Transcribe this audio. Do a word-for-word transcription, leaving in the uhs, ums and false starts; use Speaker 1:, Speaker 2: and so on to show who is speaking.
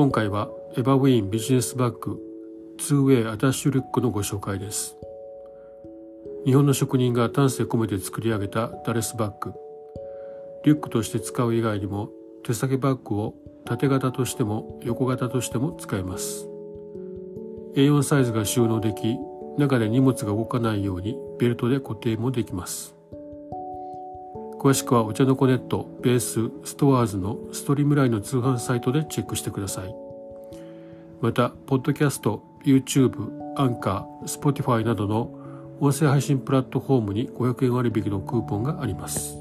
Speaker 1: 今回はエバウィーンビジネスバッグ ツーウェイ アタッシュリュックのご紹介です。日本の職人が丹精込めて作り上げたダレスバッグ。リュックとして使う以外にも手提げバッグを縦型としても横型としても使えます。エーよん サイズが収納でき、中で荷物が動かないようにベルトで固定もできます。詳しくはお茶の子ネット、ベース、ストアーズのストリームラインの通販サイトでチェックしてください。また、ポッドキャスト、YouTube、アンカー、Spotify などの音声配信プラットフォームにごひゃくえん割引のクーポンがあります。